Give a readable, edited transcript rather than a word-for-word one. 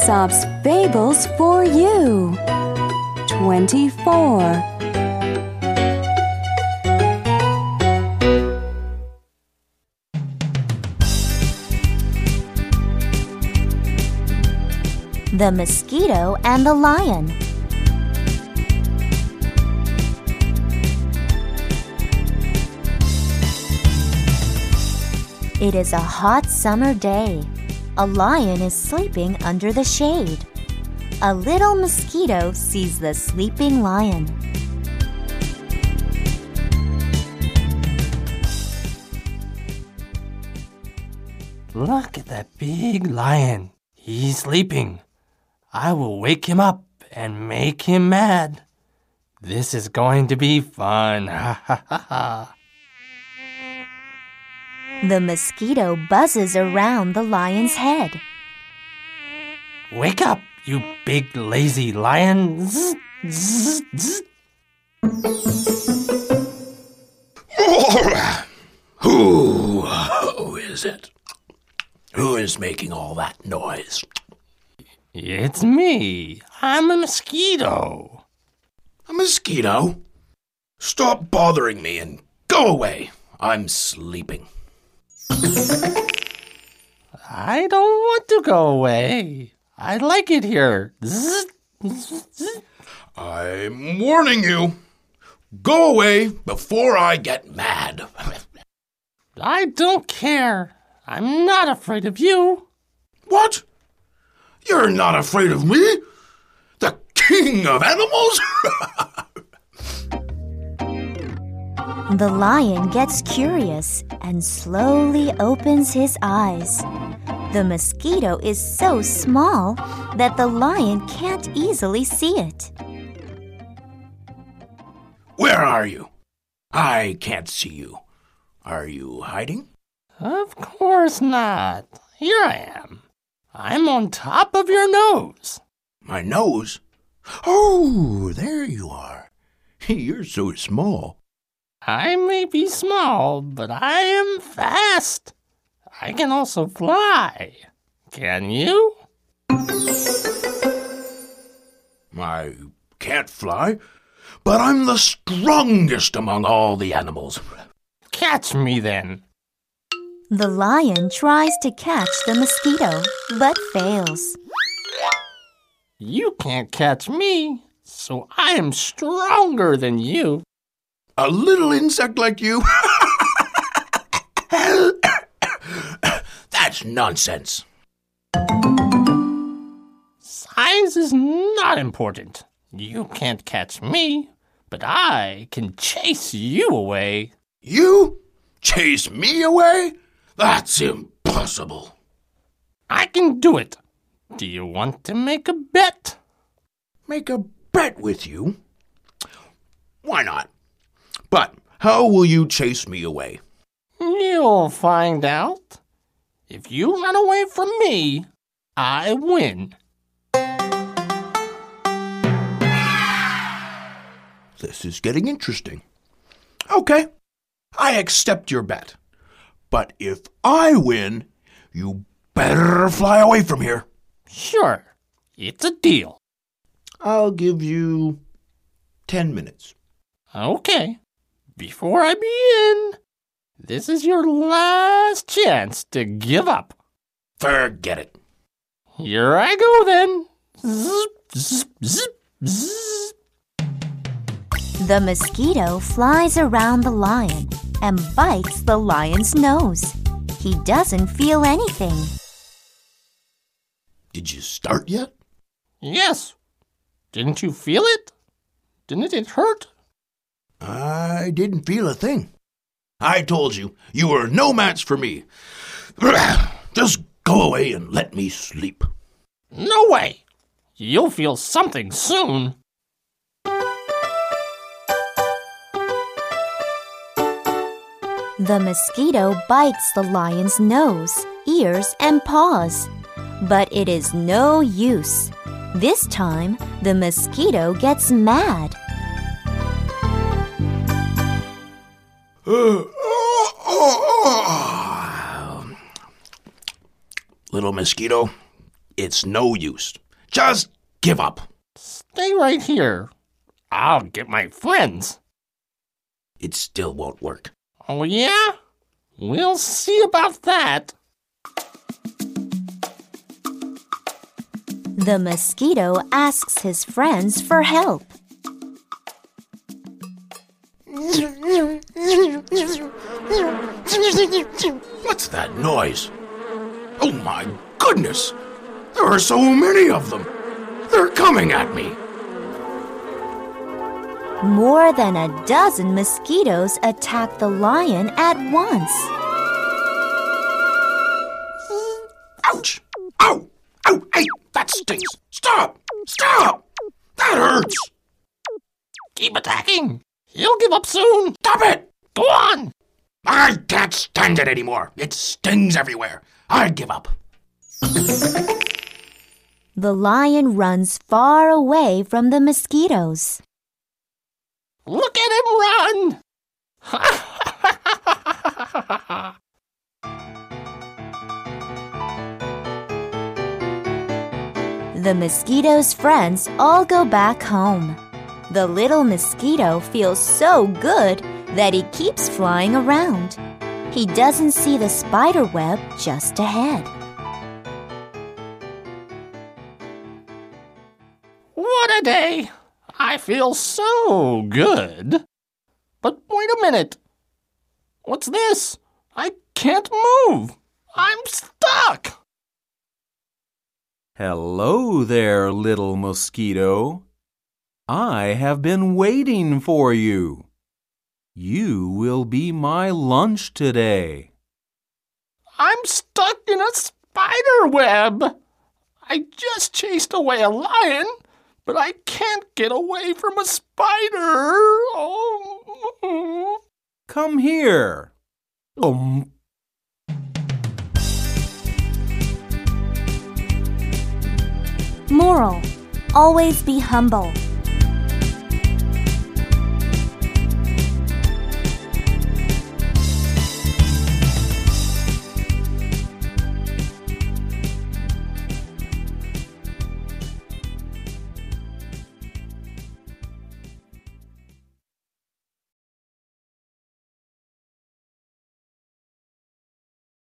Aesop's Fables for you. 24. The Mosquito and the Lion. It is a hot summer day. A lion is sleeping under the shade. A little mosquito sees the sleeping lion. Look at that big lion. He's sleeping. I will wake him up and make him mad. This is going to be fun. Ha ha ha ha. The mosquito buzzes around the lion's head. Wake up, you big lazy lion. Zzz, zzz, zzz. Who is it? Who is making all that noise? It's me. I'm a mosquito. A mosquito? Stop bothering me and go away. I'm sleeping. I don't want to go away. I like it here. Zzz, zzz, zzz. I'm warning you. Go away before I get mad. I don't care. I'm not afraid of you. What? You're not afraid of me? The king of animals? The lion gets curious and slowly opens his eyes. The mosquito is so small that the lion can't easily see it. Where are you? I can't see you. Are you hiding? Of course not. Here I am. I'm on top of your nose. My nose? Oh, there you are. You're so small. I may be small, but I am fast. I can also fly. Can you? I can't fly, but I'm the strongest among all the animals. Catch me then. The lion tries to catch the mosquito, but fails. You can't catch me, so I am stronger than you. A little insect like you? That's nonsense. Size is not important. You can't catch me, but I can chase you away. You chase me away? That's impossible. I can do it. Do you want to make a bet? Make a bet with you? Why not? But how will you chase me away? You'll find out. If you run away from me, I win. This is getting interesting. Okay, I accept your bet. But if I win, you better fly away from here. Sure, it's a deal. I'll give you 10 minutes. Okay, before I begin, this is your last chance to give up. Forget it. Here I go then. Zip, zip, zip, zip. The mosquito flies around the lion and bites the lion's nose. He doesn't feel anything. Did you start yet? Yes. Didn't you feel it? Didn't it hurt? I didn't feel a thing. I told you, you were no match for me. Just go away and let me sleep. No way. You'll feel something soon. The mosquito bites the lion's nose, ears, and paws. But it is no use. This time, the mosquito gets mad. Little mosquito, It's no use. Just give up. Stay right here. I'll get my friends. It still won't work. Oh, yeah? We'll see about that. The mosquito asks his friends for help. What's that noise? Oh my goodness! There are so many of them! They're coming at me! More than a dozen mosquitoes attack the lion at once. Ouch! Ow! Ow! Hey! That stings! Stop! Stop! That hurts! Keep attacking. He'll give up soon. Stop it! Go on. I can't stand it anymore. It stings everywhere. I give up. The lion runs far away from the mosquitoes. Look at him run. The mosquito's friends all go back home. The little mosquito feels so good that he keeps flying around. He doesn't see the spider web just ahead. What a day. I feel so good. But wait a minute. What's this? I can't move. I'm stuck. Hello there, little mosquito. I have been waiting for you. You will be my lunch today. I'm stuck in a spider web. I just chased away a lion, but I can't get away from a spider. Oh. Come here. Moral: always be humble.